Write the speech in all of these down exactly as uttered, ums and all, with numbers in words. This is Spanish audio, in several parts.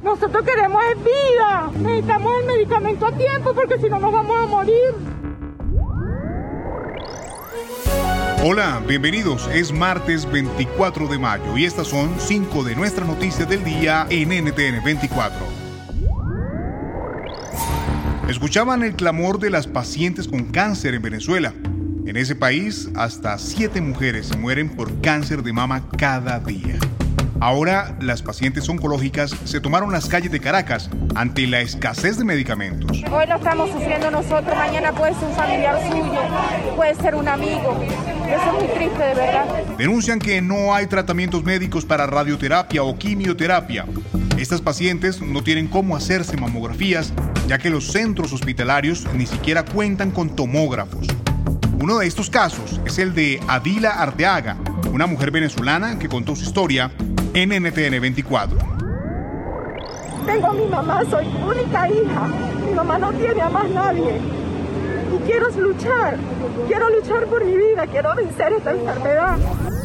Nosotros queremos es vida. Necesitamos el medicamento a tiempo porque si no nos vamos a morir. Hola, bienvenidos. Es martes veinticuatro de mayo y estas son cinco de nuestras noticias del día en N T N veinticuatro. Escuchaban el clamor de las pacientes con cáncer en Venezuela. En ese país, hasta siete mujeres se mueren por cáncer de mama cada día. Ahora, las pacientes oncológicas se tomaron las calles de Caracas ante la escasez de medicamentos. Hoy lo estamos sufriendo nosotros, mañana puede ser un familiar suyo, puede ser un amigo. Eso es muy triste, de verdad. Denuncian que no hay tratamientos médicos para radioterapia o quimioterapia. Estas pacientes no tienen cómo hacerse mamografías, ya que los centros hospitalarios ni siquiera cuentan con tomógrafos. Uno de estos casos es el de Adila Arteaga, una mujer venezolana que contó su historia en N T N veinticuatro. Tengo a mi mamá, soy única hija. Mi mamá no tiene a más nadie. Y quiero luchar, quiero luchar por mi vida, quiero vencer esta enfermedad.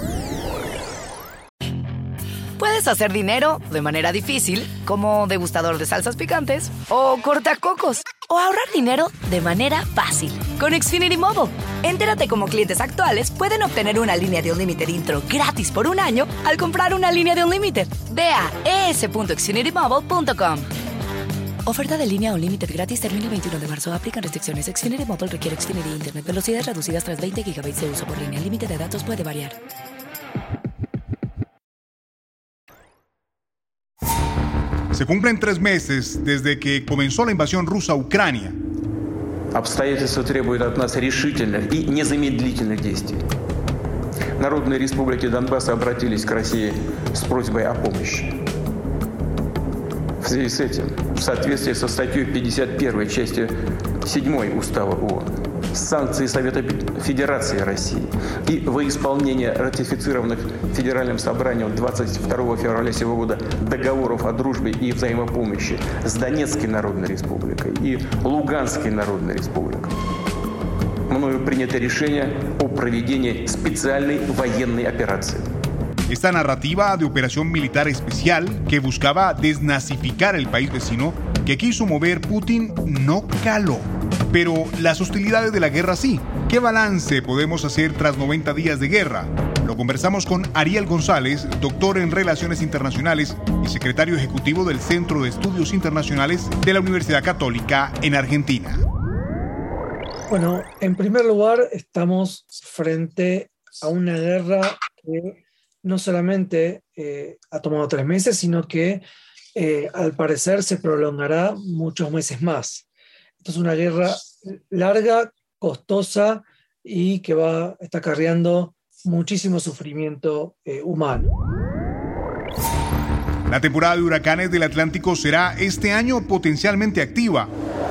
Puedes hacer dinero de manera difícil, como degustador de salsas picantes, o cortacocos, o ahorrar dinero de manera fácil con Xfinity Mobile. Entérate cómo clientes actuales pueden obtener una línea de Unlimited intro gratis por un año al comprar una línea de Unlimited. Ve a e s punto xfinity mobile punto com. Oferta de línea Unlimited gratis termina el veintiuno de marzo. Aplican restricciones. Xfinity Mobile requiere Xfinity Internet. Velocidades reducidas tras veinte gigabytes de uso por línea. El límite de datos puede variar. Se cumplen tres meses desde que comenzó la invasión rusa a Ucrania. Обстоятельства требуют от нас решительных и незамедлительных действий. Народные республики Донбасса обратились к России с просьбой о помощи. В связи с этим, в соответствии со статьей пятьдесят первой части седьмой Устава ООН, санкции Совета Федерации России и во исполнение ратифицированных Федеральным собранием двадцать второго февраля сего года договоров о дружбе и взаимопомощи с Донецкой Народной Республикой и Луганской Народной Республикой, мною принято решение о проведении специальной военной операции. Esta narrativa de operación militar especial que buscaba desnazificar el país vecino que quiso mover Putin no caló. Pero las hostilidades de la guerra sí. ¿Qué balance podemos hacer tras noventa días de guerra? Lo conversamos con Ariel González, doctor en Relaciones Internacionales y secretario ejecutivo del Centro de Estudios Internacionales de la Universidad Católica en Argentina. Bueno, en primer lugar, estamos frente a una guerra que no solamente eh, ha tomado tres meses, sino que eh, al parecer se prolongará muchos meses más. Esto es una guerra larga, costosa y que va, está acarreando muchísimo sufrimiento eh, humano. La temporada de huracanes del Atlántico será este año potencialmente activa.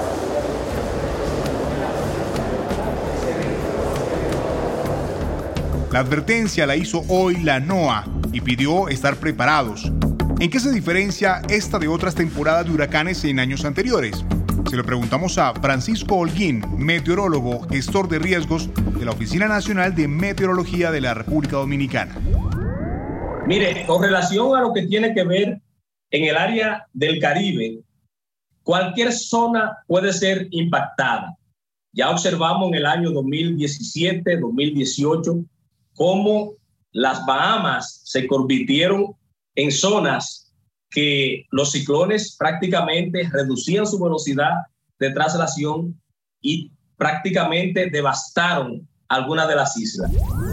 La advertencia la hizo hoy la NOAA y pidió estar preparados. ¿En qué se diferencia esta de otras temporadas de huracanes en años anteriores? Se lo preguntamos a Francisco Holguín, meteorólogo, gestor de riesgos de la Oficina Nacional de Meteorología de la República Dominicana. Mire, con relación a lo que tiene que ver en el área del Caribe, cualquier zona puede ser impactada. Ya observamos en el año dos mil diecisiete, dos mil dieciocho, cómo las Bahamas se convirtieron en zonas que los ciclones prácticamente reducían su velocidad de traslación y prácticamente devastaron algunas de las islas.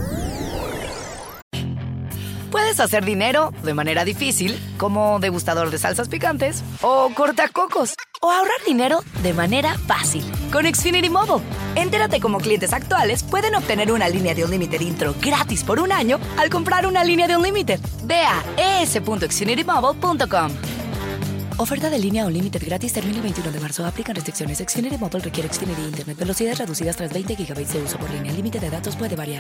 Puedes hacer dinero de manera difícil, como degustador de salsas picantes, o cortacocos, o ahorrar dinero de manera fácil con Xfinity Mobile. Entérate cómo clientes actuales pueden obtener una línea de Unlimited intro gratis por un año al comprar una línea de Unlimited. Ve a e s punto xfinity mobile punto com. Oferta de línea Unlimited gratis termina el veintiuno de marzo. Aplican restricciones. Xfinity Mobile requiere Xfinity Internet. Velocidades reducidas tras veinte gigabytes de uso por línea. El límite de datos puede variar.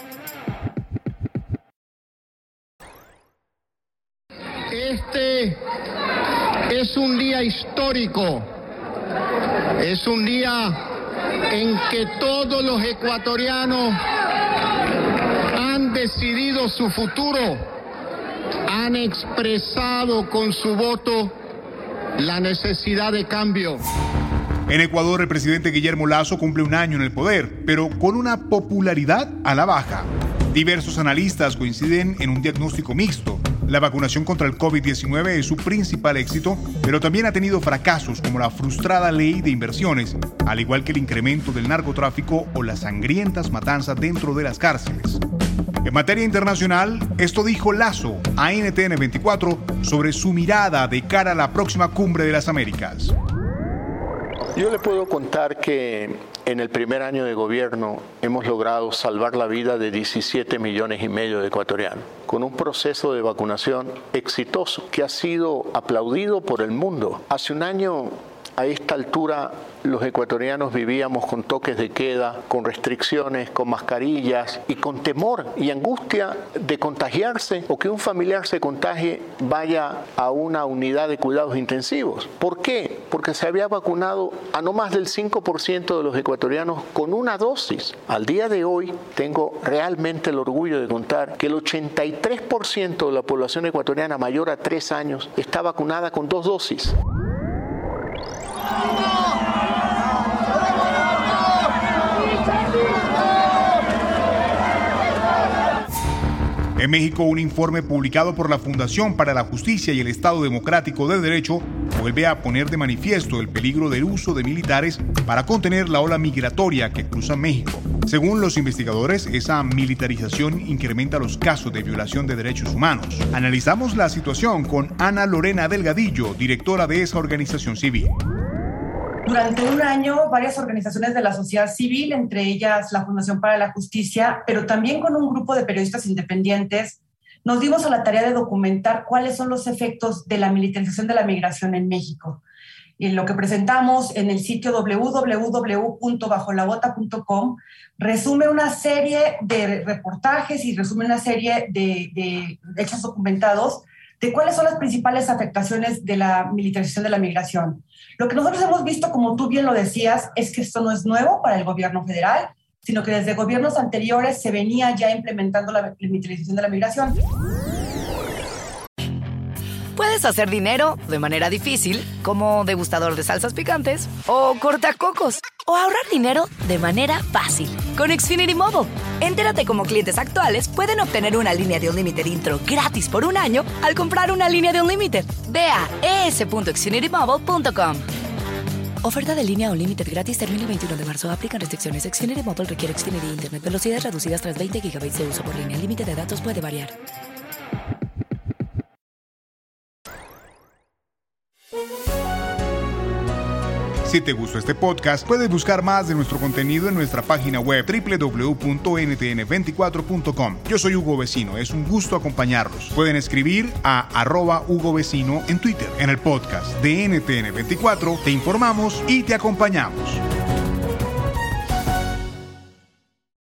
Este es un día histórico. Es un día en que todos los ecuatorianos han decidido su futuro, han expresado con su voto la necesidad de cambio. En Ecuador, el presidente Guillermo Lasso cumple un año en el poder, pero con una popularidad a la baja. Diversos analistas coinciden en un diagnóstico mixto. La vacunación contra el COVID diecinueve es su principal éxito, pero también ha tenido fracasos como la frustrada ley de inversiones, al igual que el incremento del narcotráfico o las sangrientas matanzas dentro de las cárceles. En materia internacional, esto dijo Lasso a N T N veinticuatro sobre su mirada de cara a la próxima Cumbre de las Américas. Yo le puedo contar que en el primer año de gobierno hemos logrado salvar la vida de diecisiete millones y medio de ecuatorianos, con un proceso de vacunación exitoso que ha sido aplaudido por el mundo. Hace un año, a esta altura, los ecuatorianos vivíamos con toques de queda, con restricciones, con mascarillas y con temor y angustia de contagiarse o que un familiar se contagie, vaya a una unidad de cuidados intensivos. ¿Por qué? Porque se había vacunado a no más del cinco por ciento de los ecuatorianos con una dosis. Al día de hoy tengo realmente el orgullo de contar que el ochenta y tres por ciento de la población ecuatoriana mayor a tres años está vacunada con dos dosis. En México, un informe publicado por la Fundación para la Justicia y el Estado Democrático de Derecho vuelve a poner de manifiesto el peligro del uso de militares para contener la ola migratoria que cruza México. Según los investigadores, esa militarización incrementa los casos de violación de derechos humanos. Analizamos la situación con Ana Lorena Delgadillo, directora de esa organización civil. Durante un año, varias organizaciones de la sociedad civil, entre ellas la Fundación para la Justicia, pero también con un grupo de periodistas independientes, nos dimos a la tarea de documentar cuáles son los efectos de la militarización de la migración en México. Y lo que presentamos en el sitio doble u doble u doble u punto bajo la bota punto com resume una serie de reportajes y resume una serie de, de hechos documentados de cuáles son las principales afectaciones de la militarización de la migración. Lo que nosotros hemos visto, como tú bien lo decías, es que esto no es nuevo para el gobierno federal, sino que desde gobiernos anteriores se venía ya implementando la militarización de la migración. Puedes hacer dinero de manera difícil, como degustador de salsas picantes, o cortacocos, o ahorrar dinero de manera fácil con Xfinity Mobile. Entérate cómo clientes actuales pueden obtener una línea de Unlimited intro gratis por un año al comprar una línea de Unlimited. Ve a e s punto xfinity mobile punto com. Oferta de línea Unlimited gratis termina el veintiuno de marzo. Aplican restricciones. Xfinity Mobile requiere Xfinity Internet. Velocidades reducidas tras veinte gigabytes de uso por línea. El límite de datos puede variar. Si te gustó este podcast, puedes buscar más de nuestro contenido en nuestra página web doble u doble u doble u punto ene te ene veinticuatro punto com. Yo soy Hugo Vecino, es un gusto acompañarlos. Pueden escribir a arroba Hugo Vecino en Twitter. En el podcast de N T N veinticuatro te informamos y te acompañamos.